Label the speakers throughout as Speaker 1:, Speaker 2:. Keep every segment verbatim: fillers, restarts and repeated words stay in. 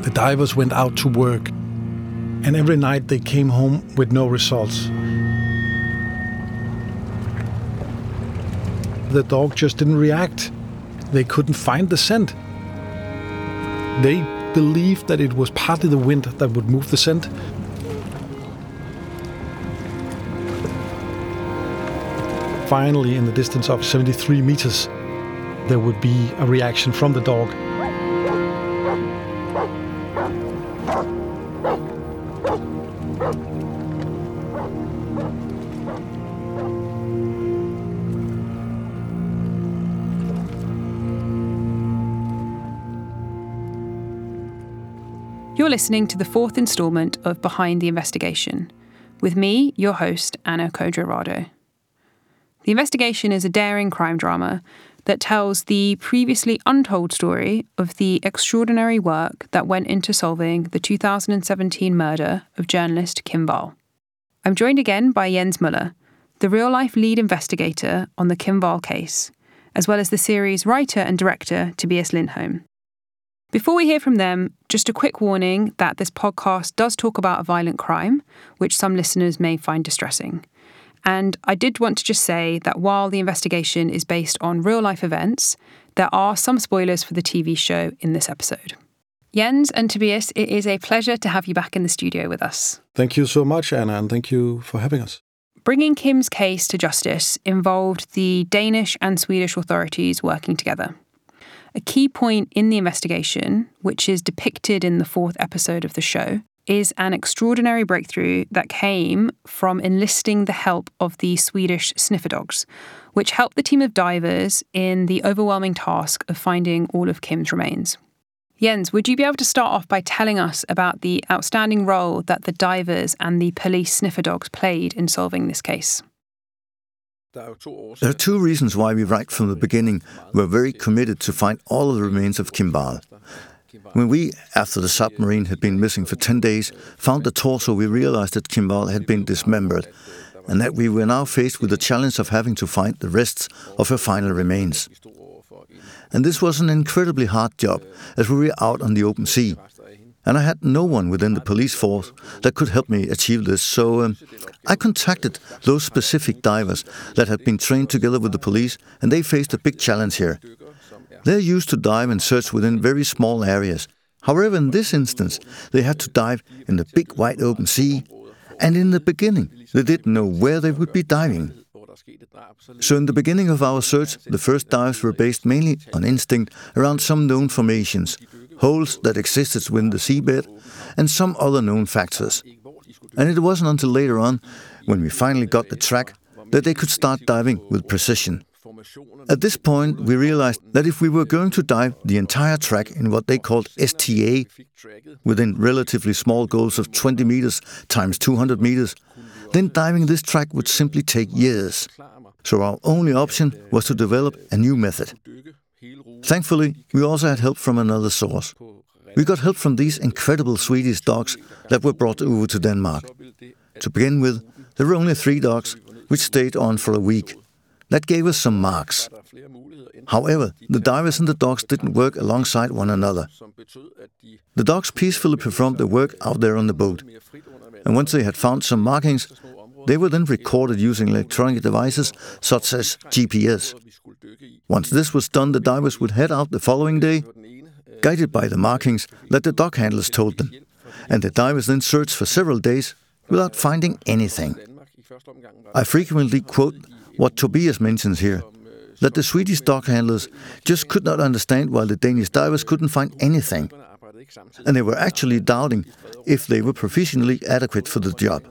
Speaker 1: The divers went out to work, and every night they came home with no results. The dog just didn't react. They couldn't find the scent. They believed that it was partly the wind that would move the scent. Finally, in the distance of seventy-three meters, there would be a reaction from the dog.
Speaker 2: You're listening to the fourth instalment of Behind the Investigation, with me, your host, Anna Codrerado. The Investigation is a daring crime drama that tells the previously untold story of the extraordinary work that went into solving the two thousand seventeen murder of journalist Kim Wall. I'm joined again by Jens Müller, the real-life lead investigator on the Kim Wall case, as well as the series writer and director Tobias Lindholm. Before we hear from them, just a quick warning that this podcast does talk about a violent crime, which some listeners may find distressing. And I did want to just say that while the investigation is based on real-life events, there are some spoilers for the T V show in this episode. Jens and Tobias, it is a pleasure to have you back in the studio with us.
Speaker 1: Thank you so much, Anna, and thank you for having us.
Speaker 2: Bringing Kim's case to justice involved the Danish and Swedish authorities working together. A key point in the investigation, which is depicted in the fourth episode of the show, is an extraordinary breakthrough that came from enlisting the help of the Swedish sniffer dogs, which helped the team of divers in the overwhelming task of finding all of Kim's remains. Jens, would you be able to start off by telling us about the outstanding role that the divers and the police sniffer dogs played in solving this case?
Speaker 3: There are two reasons why we, right from the beginning, were very committed to find all of the remains of Kim Wall. When we, after the submarine had been missing for ten days, found the torso, we realized that Kim Wall had been dismembered, and that we were now faced with the challenge of having to find the rests of her final remains. And this was an incredibly hard job, as we were out on the open sea. And I had no one within the police force that could help me achieve this, so um, I contacted those specific divers that had been trained together with the police, and they faced a big challenge here. They're used to dive and search within very small areas. However, in this instance, they had to dive in the big wide open sea, and in the beginning, they didn't know where they would be diving. So in the beginning of our search, the first dives were based mainly on instinct around some known formations, holes that existed within the seabed, and some other known factors. And it wasn't until later on, when we finally got the track, that they could start diving with precision. At this point, we realized that if we were going to dive the entire track in what they called S T A, within relatively small goals of twenty meters times two hundred meters, then diving this track would simply take years. So our only option was to develop a new method. Thankfully, we also had help from another source. We got help from these incredible Swedish dogs that were brought over to Denmark. To begin with, there were only three dogs, which stayed on for a week. That gave us some marks. However, the divers and the dogs didn't work alongside one another. The dogs peacefully performed their work out there on the boat. And once they had found some markings, they were then recorded using electronic devices such as G P S. Once this was done, the divers would head out the following day, guided by the markings that the dog handlers told them. And the divers then searched for several days without finding anything. I frequently quote what Tobias mentions here, that the Swedish dog handlers just could not understand why the Danish divers couldn't find anything. And they were actually doubting if they were professionally adequate for the job.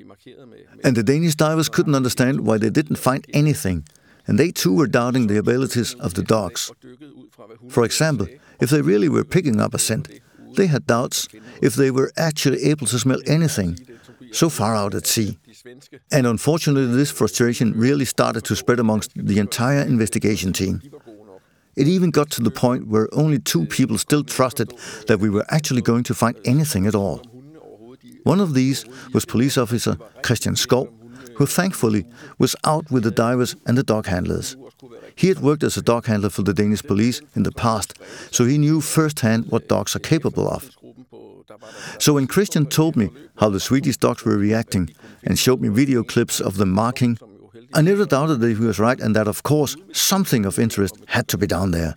Speaker 3: And the Danish divers couldn't understand why they didn't find anything, and they too were doubting the abilities of the dogs. For example, if they really were picking up a scent, they had doubts if they were actually able to smell anything so far out at sea. And unfortunately, this frustration really started to spread amongst the entire investigation team. It even got to the point where only two people still trusted that we were actually going to find anything at all. One of these was police officer Christian Skov, who thankfully was out with the divers and the dog handlers. He had worked as a dog handler for the Danish police in the past, so he knew firsthand what dogs are capable of. So when Christian told me how the Swedish dogs were reacting and showed me video clips of them marking, I never doubted that he was right and that, of course, something of interest had to be down there.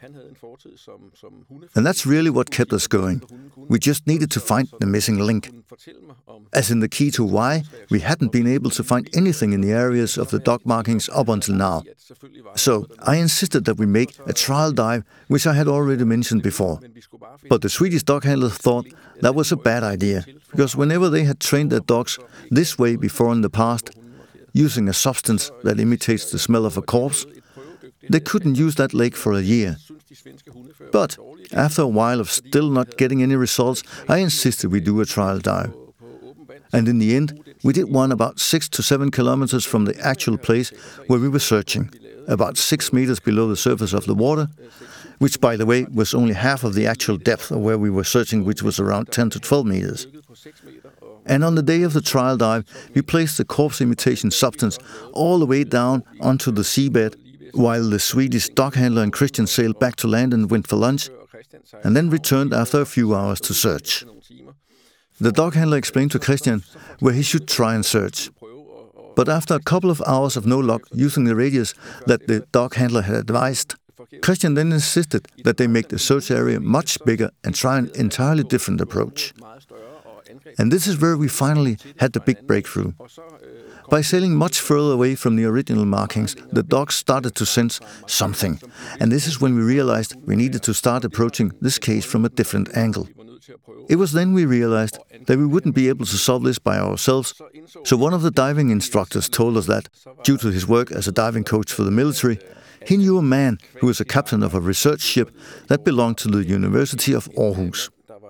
Speaker 3: And that's really what kept us going. We just needed to find the missing link. As in the key to why we hadn't been able to find anything in the areas of the dog markings up until now. So I insisted that we make a trial dive, which I had already mentioned before. But the Swedish dog handlers thought that was a bad idea, because whenever they had trained their dogs this way before in the past, using a substance that imitates the smell of a corpse, they couldn't use that lake for a year. But after a while of still not getting any results, I insisted we do a trial dive. And in the end, we did one about six to seven kilometers from the actual place where we were searching, about six meters below the surface of the water, which, by the way, was only half of the actual depth of where we were searching, which was around ten to twelve meters. And on the day of the trial dive, we placed the corpse imitation substance all the way down onto the seabed, while the Swedish dog handler and Christian sailed back to land and went for lunch, and then returned after a few hours to search. The dog handler explained to Christian where he should try and search. But after a couple of hours of no luck using the radius that the dog handler had advised, Christian then insisted that they make the search area much bigger and try an entirely different approach. And this is where we finally had the big breakthrough. By sailing much further away from the original markings, the dogs started to sense something. And this is when we realized we needed to start approaching this case from a different angle. It was then we realized that we wouldn't be able to solve this by ourselves. So one of the diving instructors told us that, due to his work as a diving coach for the military, he knew a man who was a captain of a research ship that belonged to the University of Aarhus.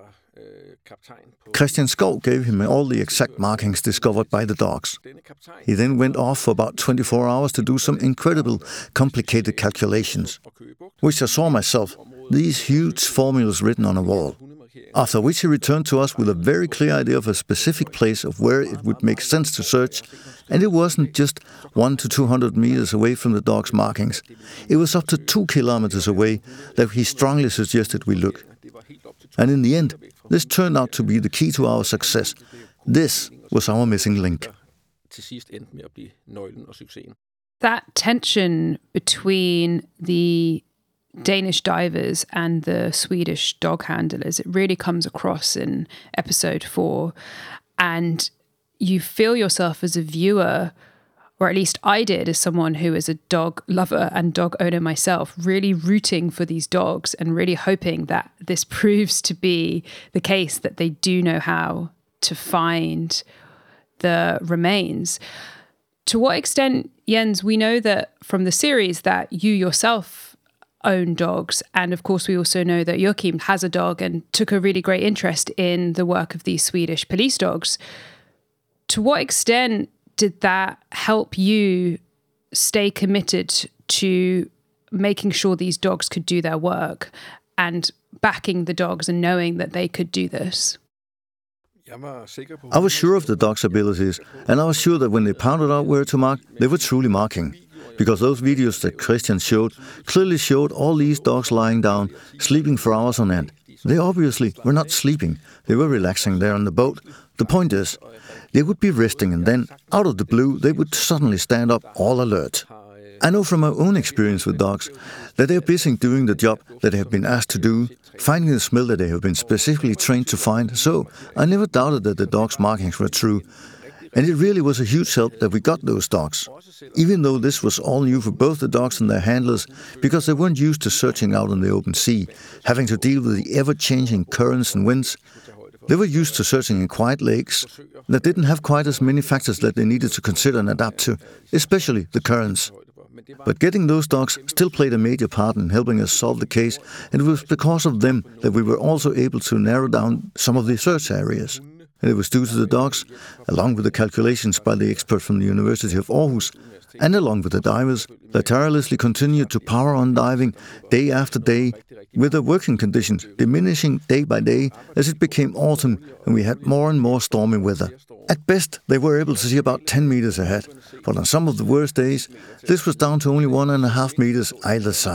Speaker 3: Christian Skov gave him all the exact markings discovered by the dogs. He then went off for about twenty-four hours to do some incredible, complicated calculations, which I saw myself, these huge formulas written on a wall. After which he returned to us with a very clear idea of a specific place of where it would make sense to search, and it wasn't just one to two hundred meters away from the dog's markings. It was up to two kilometers away that he strongly suggested we look. And in the end, this turned out to be the key to our success. This was our missing link.
Speaker 2: That tension between the Danish divers and the Swedish dog handlers, it really comes across in episode four. And you feel yourself as a viewer, or at least I did as someone who is a dog lover and dog owner myself, really rooting for these dogs and really hoping that this proves to be the case, that they do know how to find the remains. To what extent, Jens, we know that from the series that you yourself own dogs, and of course we also know that Joachim has a dog and took a really great interest in the work of these Swedish police dogs. To what extent did that help you stay committed to making sure these dogs could do their work and backing the dogs and knowing that they could do this?
Speaker 3: I was sure of the dogs' abilities, and I was sure that when they pounded out where to mark, they were truly marking. Because those videos that Christian showed clearly showed all these dogs lying down, sleeping for hours on end. They obviously were not sleeping. They were relaxing there on the boat. The point is, they would be resting, and then, out of the blue, they would suddenly stand up all alert. I know from my own experience with dogs that they are busy doing the job that they have been asked to do, finding the smell that they have been specifically trained to find, so I never doubted that the dogs' markings were true. And it really was a huge help that we got those dogs, even though this was all new for both the dogs and their handlers, because they weren't used to searching out in the open sea, having to deal with the ever-changing currents and winds. They were used to searching in quiet lakes that didn't have quite as many factors that they needed to consider and adapt to, especially the currents. But getting those dogs still played a major part in helping us solve the case, and it was because of them that we were also able to narrow down some of the search areas. And it was due to the dogs, along with the calculations by the expert from the University of Aarhus, and along with the divers, that tirelessly continued to power on diving day after day, with the working conditions diminishing day by day as it became autumn and we had more and more stormy weather. At best, they were able to see about ten meters ahead, but on some of the worst days, this was down to only one and a half meters either side.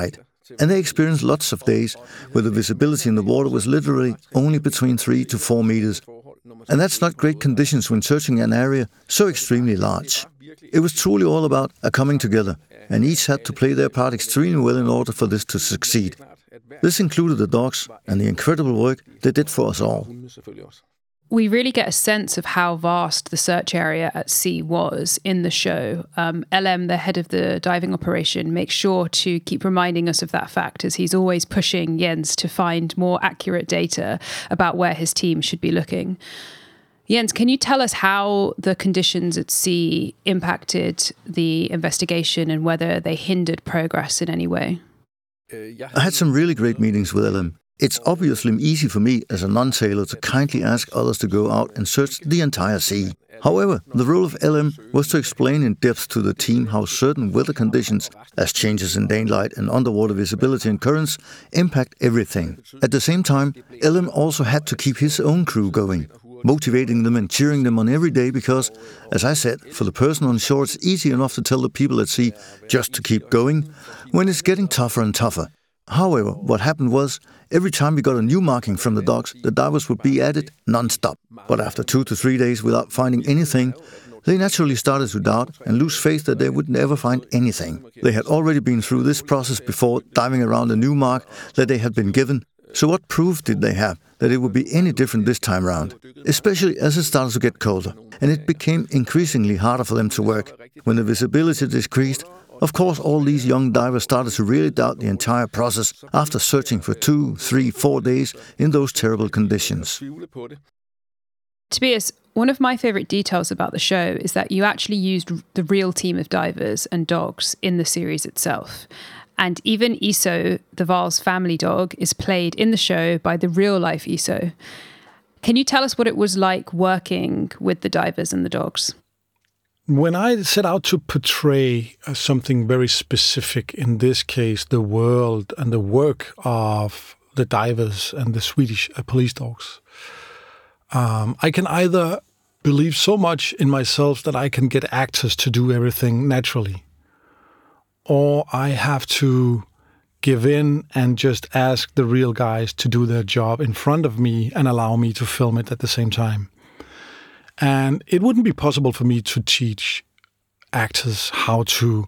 Speaker 3: And they experienced lots of days where the visibility in the water was literally only between three to four meters. And that's not great conditions when searching an area so extremely large. It was truly all about a coming together, and each had to play their part extremely well in order for this to succeed. This included the dogs and the incredible work they did for us all.
Speaker 2: We really get a sense of how vast the search area at sea was in the show. Um, L M, the head of the diving operation, makes sure to keep reminding us of that fact as he's always pushing Jens to find more accurate data about where his team should be looking. Jens, can you tell us how the conditions at sea impacted the investigation and whether they hindered progress in any way?
Speaker 3: I had some really great meetings with L M. It's obviously easy for me as a non-sailor to kindly ask others to go out and search the entire sea. However, the role of L M was to explain in depth to the team how certain weather conditions, as changes in daylight and underwater visibility and currents, impact everything. At the same time, L M also had to keep his own crew going, motivating them and cheering them on every day because, as I said, for the person on shore it's easy enough to tell the people at sea just to keep going when it's getting tougher and tougher. However, what happened was, every time we got a new marking from the dogs, the divers would be at it non-stop. But after two to three days without finding anything, they naturally started to doubt and lose faith that they would never find anything. They had already been through this process before, diving around a new mark that they had been given. So what proof did they have that it would be any different this time round? Especially as it started to get colder, and it became increasingly harder for them to work. When the visibility decreased, of course, all these young divers started to really doubt the entire process after searching for two, three, four days in those terrible conditions.
Speaker 2: Tobias, one of my favourite details about the show is that you actually used the real team of divers and dogs in the series itself. And even Iso, the Val's family dog, is played in the show by the real-life Iso. Can you tell us what it was like working with the divers and the dogs?
Speaker 1: When I set out to portray uh, something very specific, in this case, the world and the work of the divers and the Swedish uh, police dogs, um, I can either believe so much in myself that I can get actors to do everything naturally, or I have to give in and just ask the real guys to do their job in front of me and allow me to film it at the same time. And it wouldn't be possible for me to teach actors how to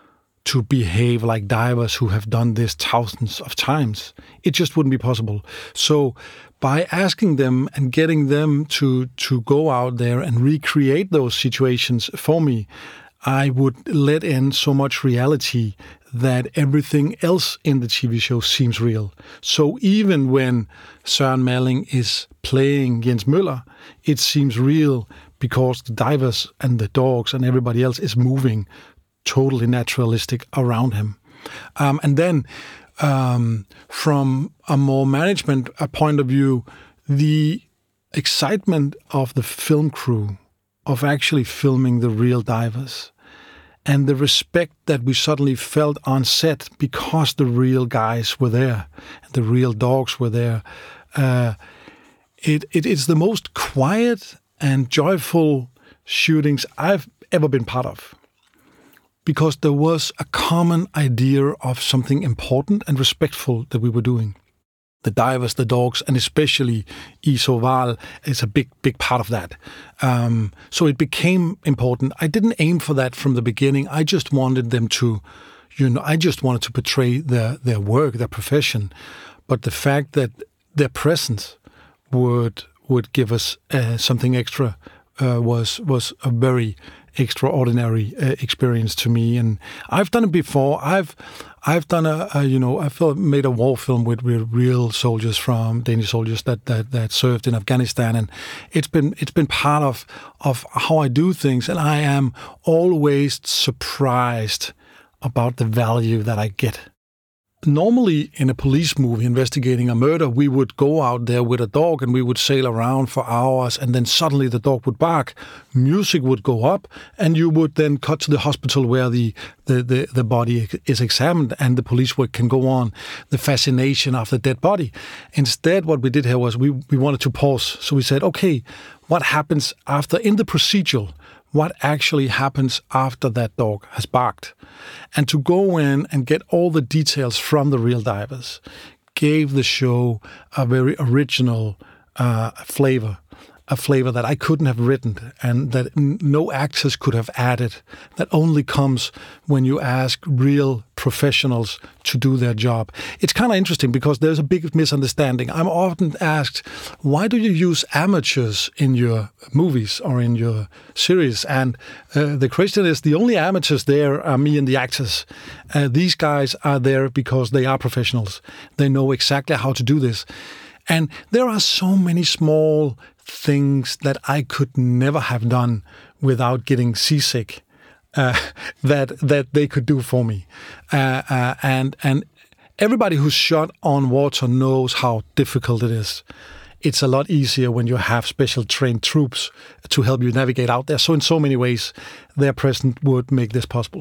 Speaker 1: to behave like divers who have done this thousands of times. It just wouldn't be possible. So by asking them and getting them to, to go out there and recreate those situations for me, I would let in so much reality that everything else in the T V show seems real. So even when Søren Malling is playing Jens Møller, it seems real because the divers and the dogs and everybody else is moving totally naturalistic around him. Um, and then um, from a more management a point of view, the excitement of the film crew of actually filming the real divers and the respect that we suddenly felt on set because the real guys were there and the real dogs were there. Uh, it, it is the most quiet and joyful shootings I've ever been part of, because there was a common idea of something important and respectful that we were doing. The divers, the dogs, and especially Iso Val is a big, big part of that. Um, so it became important. I didn't aim for that from the beginning. I just wanted them to, you know, I just wanted to portray their, their work, their profession. But the fact that their presence would would give us uh, something extra uh, was was a very extraordinary uh, experience to me. And I've done it before. I've I've done a, a you know I've made a war film with, with real soldiers from Danish soldiers that, that that served in Afghanistan, and it's been it's been part of of how I do things, and I am always surprised about the value that I get. Normally, in a police movie investigating a murder, we would go out there with a dog and we would sail around for hours, and then suddenly the dog would bark, music would go up, and you would then cut to the hospital where the, the, the, the body is examined and the police work can go on, the fascination of the dead body. Instead, what we did here was we, we wanted to pause. So we said, okay, what happens after, in the procedural, what actually happens after that dog has barked. And to go in and get all the details from the real divers gave the show a very original uh, flavor. A flavor that I couldn't have written and that no actors could have added, that only comes when you ask real professionals to do their job. It's kind of interesting because there's a big misunderstanding. I'm often asked, why do you use amateurs in your movies or in your series? And uh, the question is, the only amateurs there are me and the actors. Uh, these guys are there because they are professionals. They know exactly how to do this. And there are so many small things that I could never have done without getting seasick uh, that that they could do for me. Uh, uh, and and everybody who's shot on water knows how difficult it is. It's a lot easier when you have special trained troops to help you navigate out there. So in so many ways, their presence would make this possible.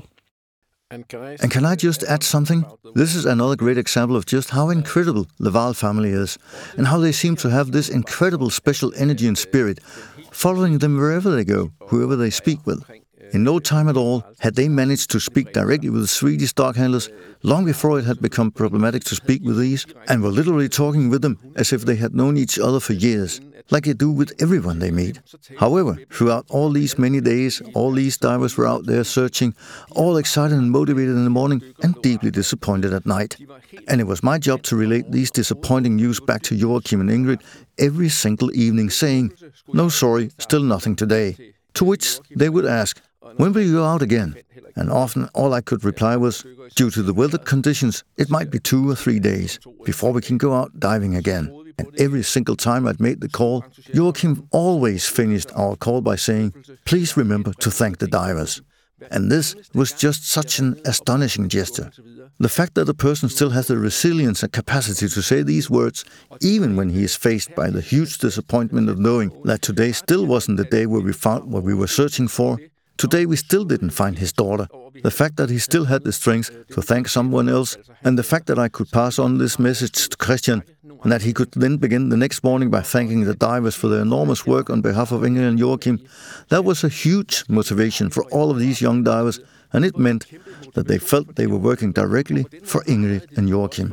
Speaker 3: And can I just add something? This is another great example of just how incredible the Wahl family is, and how they seem to have this incredible special energy and spirit, following them wherever they go, whoever they speak with. In no time at all had they managed to speak directly with the Swedish dog handlers, long before it had become problematic to speak with these, and were literally talking with them as if they had known each other for years, like they do with everyone they meet. However, throughout all these many days, all these divers were out there searching, all excited and motivated in the morning, and deeply disappointed at night. And it was my job to relate these disappointing news back to Joachim and Ingrid every single evening, saying, "No, sorry, still nothing today." To which they would ask, "When will you go out again?" And often all I could reply was, "Due to the weather conditions, it might be two or three days before we can go out diving again." And every single time I'd made the call, Joachim always finished our call by saying, "Please remember to thank the divers." And this was just such an astonishing gesture. The fact that a person still has the resilience and capacity to say these words, even when he is faced by the huge disappointment of knowing that today still wasn't the day where we found what we were searching for. Today we still didn't find his daughter. The fact that he still had the strength to thank someone else, and the fact that I could pass on this message to Christian, and that he could then begin the next morning by thanking the divers for their enormous work on behalf of Ingrid and Joachim, that was a huge motivation for all of these young divers, and it meant that they felt they were working directly for Ingrid and Joachim.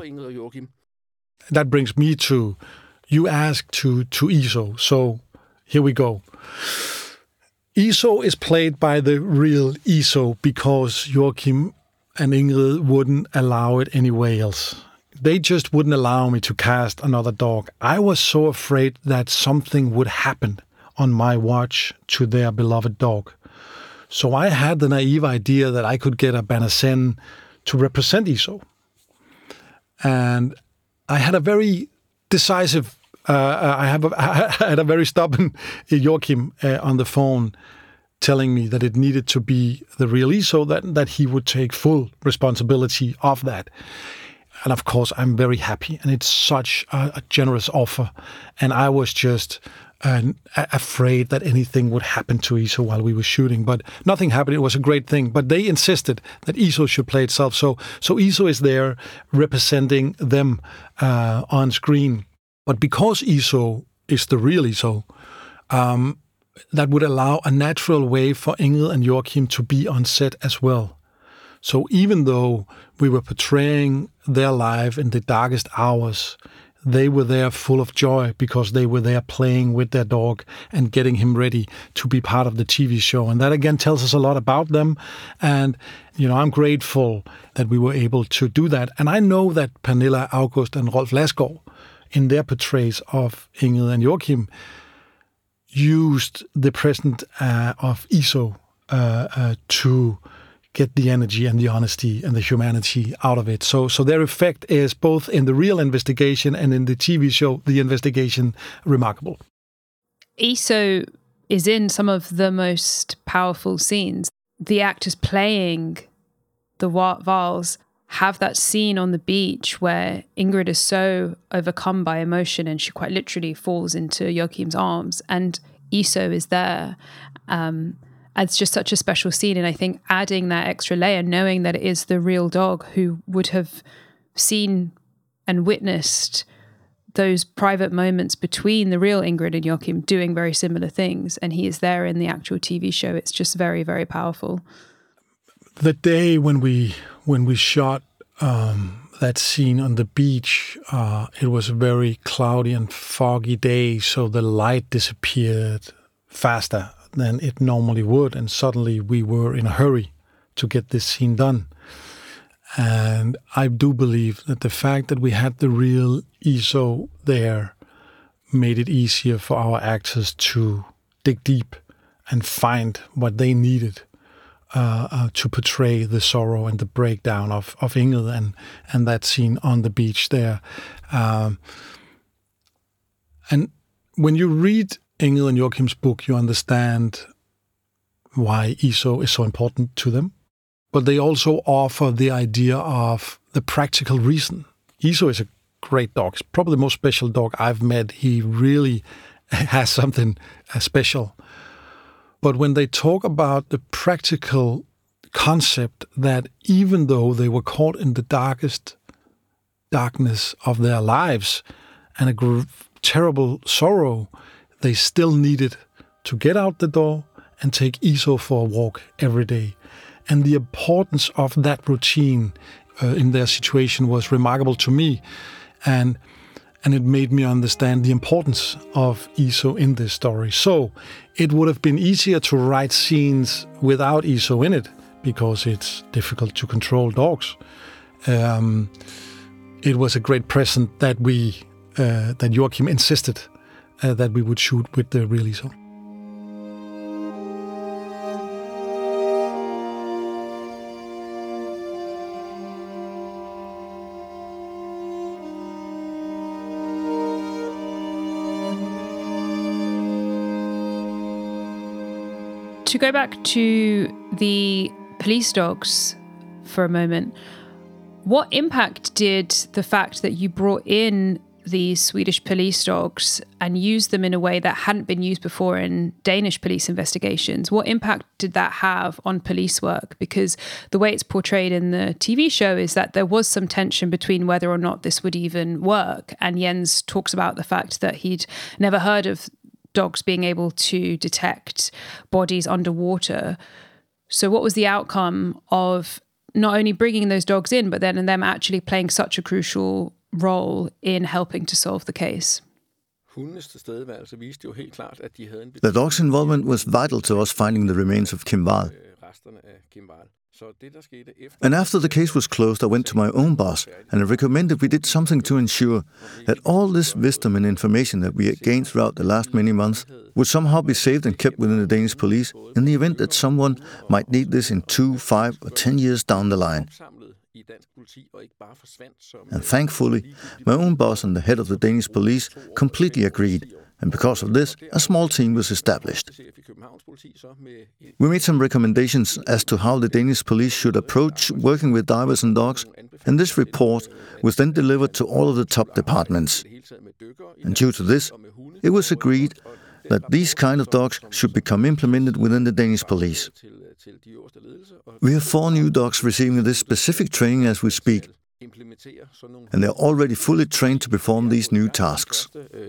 Speaker 1: That brings me to, you asked to, to Iso, so here we go. Iso is played by the real Iso because Joachim and Ingrid wouldn't allow it anywhere else. They just wouldn't allow me to cast another dog. I was so afraid that something would happen on my watch to their beloved dog. So I had the naive idea that I could get a Banacen to represent Iso. And I had a very decisive Uh, I have a, I had a very stubborn Joachim uh, on the phone telling me that it needed to be the real Iso, that, that he would take full responsibility of that. And of course, I'm very happy. And it's such a, a generous offer. And I was just uh, afraid that anything would happen to Iso while we were shooting. But nothing happened. It was a great thing. But they insisted that Iso should play itself. So, so Iso is there representing them uh, on screen. But because Iso is the real Iso, um, that would allow a natural way for Ingrid and Joachim to be on set as well. So even though we were portraying their life in the darkest hours, they were there full of joy because they were there playing with their dog and getting him ready to be part of the T V show. And that again tells us a lot about them. And, you know, I'm grateful that we were able to do that. And I know that Pernilla August and Rolf Lassgård, in their portrays of Ingrid and Joachim, used the presence uh, of Iso uh, uh, to get the energy and the honesty and the humanity out of it. So, so their effect is both in the real investigation and in the T V show, the investigation, remarkable.
Speaker 2: Iso is in some of the most powerful scenes. The actors playing the Wahls have that scene on the beach where Ingrid is so overcome by emotion and she quite literally falls into Joachim's arms, and Iso is there. Um, it's just such a special scene. And I think adding that extra layer, knowing that it is the real dog who would have seen and witnessed those private moments between the real Ingrid and Joachim doing very similar things, and he is there in the actual T V show. It's just very, very powerful.
Speaker 1: The day when we when we shot um, that scene on the beach, uh, it was a very cloudy and foggy day, so the light disappeared faster than it normally would, and suddenly we were in a hurry to get this scene done. And I do believe that the fact that we had the real E S O there made it easier for our actors to dig deep and find what they needed uh, uh, to portray the sorrow and the breakdown of, of Ingrid and, and that scene on the beach there. Um, and when you read Ingrid and Joachim's book, you understand why E S O is so important to them. But they also offer the idea of the practical reason. E S O is a great dog. It's probably the most special dog I've met. He really has something uh, special. But when they talk about the practical concept that even though they were caught in the darkest darkness of their lives and a gr- terrible sorrow, they still needed to get out the door and take E S O for a walk every day. And the importance of that routine uh, in their situation was remarkable to me. And and it made me understand the importance of E S O in this story. So it would have been easier to write scenes without E S O in it, because it's difficult to control dogs. Um, it was a great present that we, uh, that Joachim insisted uh, that we would shoot with the real E S O.
Speaker 2: To go back to the police dogs for a moment, what impact did the fact that you brought in these Swedish police dogs and used them in a way that hadn't been used before in Danish police investigations, what impact did that have on police work? Because the way it's portrayed in the T V show is that there was some tension between whether or not this would even work. And Jens talks about the fact that he'd never heard of dogs being able to detect bodies underwater. So what was the outcome of not only bringing those dogs in, but then them actually playing such a crucial role in helping to solve the case?
Speaker 3: The dog's involvement was vital to us finding the remains of Kim Wall. And after the case was closed, I went to my own boss and I recommended we did something to ensure that all this wisdom and information that we had gained throughout the last many months would somehow be saved and kept within the Danish police in the event that someone might need this in two, five, or ten years down the line. And thankfully, my own boss and the head of the Danish police completely agreed. And because of this, a small team was established. We made some recommendations as to how the Danish police should approach working with divers and dogs, and this report was then delivered to all of the top departments. And due to this, it was agreed that these kind of dogs should become implemented within the Danish police. We have four new dogs receiving this specific training as we speak, and they're already fully trained to perform these new tasks.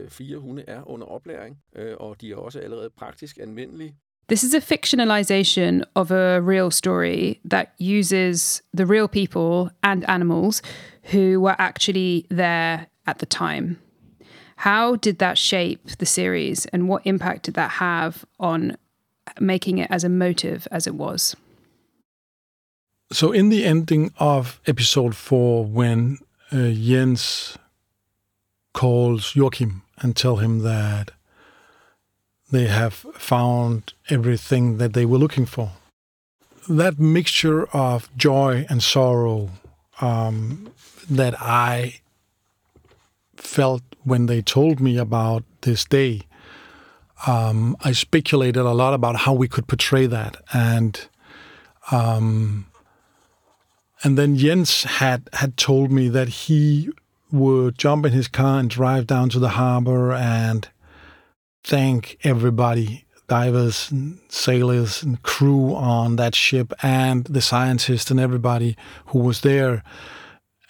Speaker 2: This is a fictionalization of a real story that uses the real people and animals who were actually there at the time. How did that shape the series, and what impact did that have on making it as emotive as it was?
Speaker 1: So in the ending of episode four, when uh, Jens calls Joachim and tell him that they have found everything that they were looking for, that mixture of joy and sorrow um, that I felt when they told me about this day, um, I speculated a lot about how we could portray that. And um, and then Jens had, had told me that he would jump in his car and drive down to the harbor and thank everybody, divers and sailors and crew on that ship and the scientists and everybody who was there.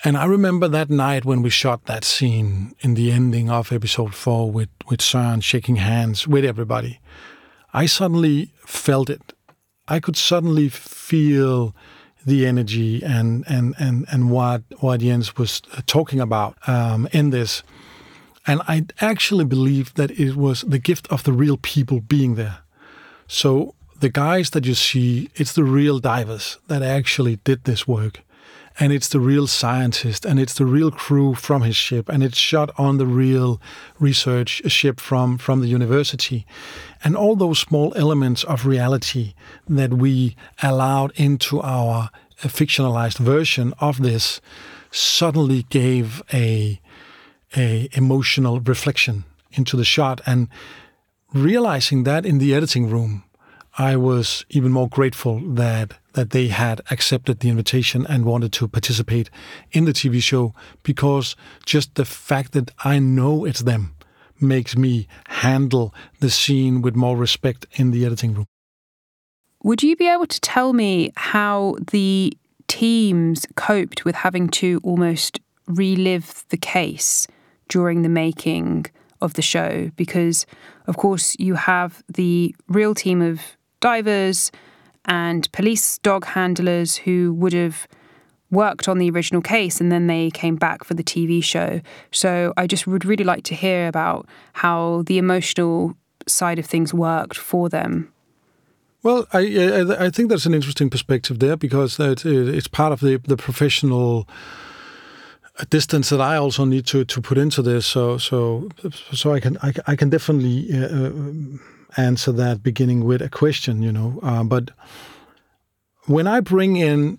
Speaker 1: And I remember that night when we shot that scene in the ending of episode four with, with Søren shaking hands with everybody. I suddenly felt it. I could suddenly feel the energy and and and, and what, what Jens was talking about um, in this. And I actually believe that it was the gift of the real people being there. So the guys that you see, it's the real divers that actually did this work. And it's the real scientist, and it's the real crew from his ship, and it's shot on the real research ship from, from the university. And all those small elements of reality that we allowed into our fictionalized version of this suddenly gave a, a emotional reflection into the shot. And realizing that in the editing room, I was even more grateful that that they had accepted the invitation and wanted to participate in the T V show, because just the fact that I know it's them makes me handle the scene with more respect in the editing room.
Speaker 2: Would you be able to tell me how the teams coped with having to almost relive the case during the making of the show? Because, of course, you have the real team of divers and police dog handlers who would have worked on the original case and then they came back for the T V show. So I just would really like to hear about how the emotional side of things worked for them.
Speaker 1: Well, I I, I think that's an interesting perspective there, because it, it's part of the, the professional distance that I also need to, to put into this. So so so I can I, I can definitely Uh, answer that beginning with a question, you know. Uh, but when I bring in,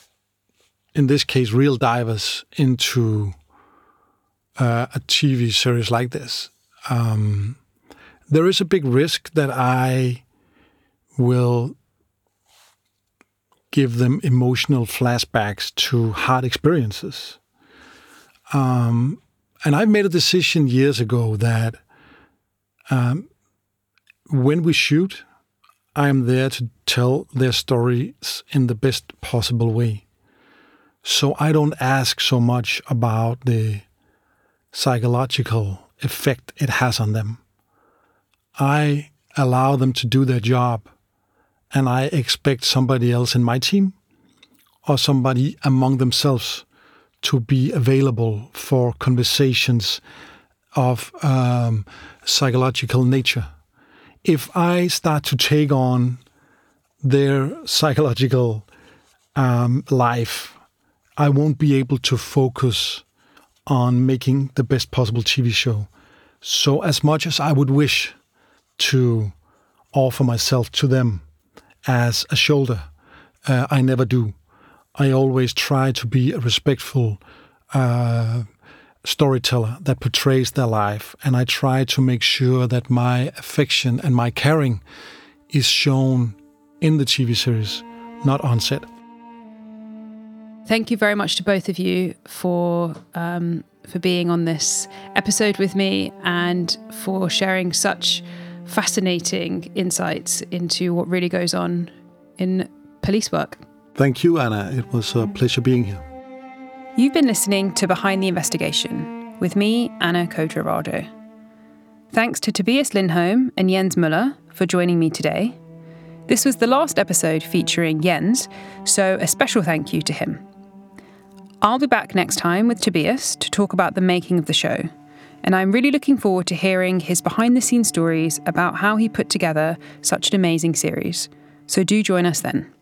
Speaker 1: in this case, real divers into uh, a T V series like this, um, there is a big risk that I will give them emotional flashbacks to hard experiences. Um, and I've made a decision years ago that um, when we shoot, I am there to tell their stories in the best possible way. So I don't ask so much about the psychological effect it has on them. I allow them to do their job, and I expect somebody else in my team or somebody among themselves to be available for conversations of um, psychological nature. If I start to take on their psychological um, life, I won't be able to focus on making the best possible T V show. So as much as I would wish to offer myself to them as a shoulder, uh, I never do. I always try to be a respectful uh, storyteller that portrays their life, and I try to make sure that my affection and my caring is shown in the T V series, not on set.
Speaker 2: Thank you very much to both of you for um, for being on this episode with me and for sharing such fascinating insights into what really goes on in police work.
Speaker 1: Thank you, Anna. It was a pleasure being here.
Speaker 2: You've been listening to Behind the Investigation with me, Anna Kodrarado. Thanks to Tobias Lindholm and Jens Müller for joining me today. This was the last episode featuring Jens, so a special thank you to him. I'll be back next time with Tobias to talk about the making of the show, and I'm really looking forward to hearing his behind-the-scenes stories about how he put together such an amazing series. So do join us then.